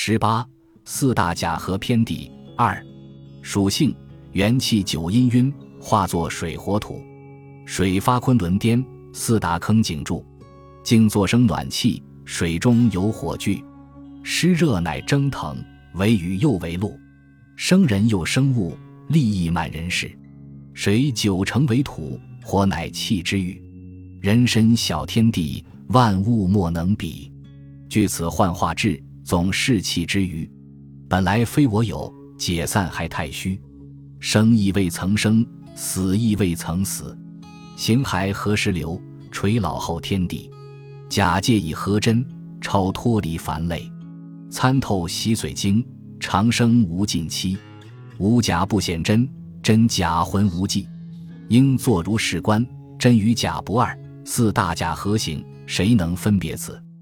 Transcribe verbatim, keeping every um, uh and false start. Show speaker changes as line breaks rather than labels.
十八四大假合篇第二。属性元气九阴晕，化作水火土。水发昆仑巅，四大坑井柱。静坐生暖气，水中有火炬。湿热乃蒸腾，为雨又为露。生人又生物，利益满人世。水九成为土，火乃气之欲。人身小天地，万物莫能比。据此幻化志，总士气之余。本来非我有，解散还太虚。生亦未曾生，死亦未曾死。形骸何时流？垂老后天地。假借以合真，超脱离凡类。参透洗髓经，长生无尽期。无假不显真，真假浑无迹。应作如是观，真与假不二。四大假合行，谁能分别此？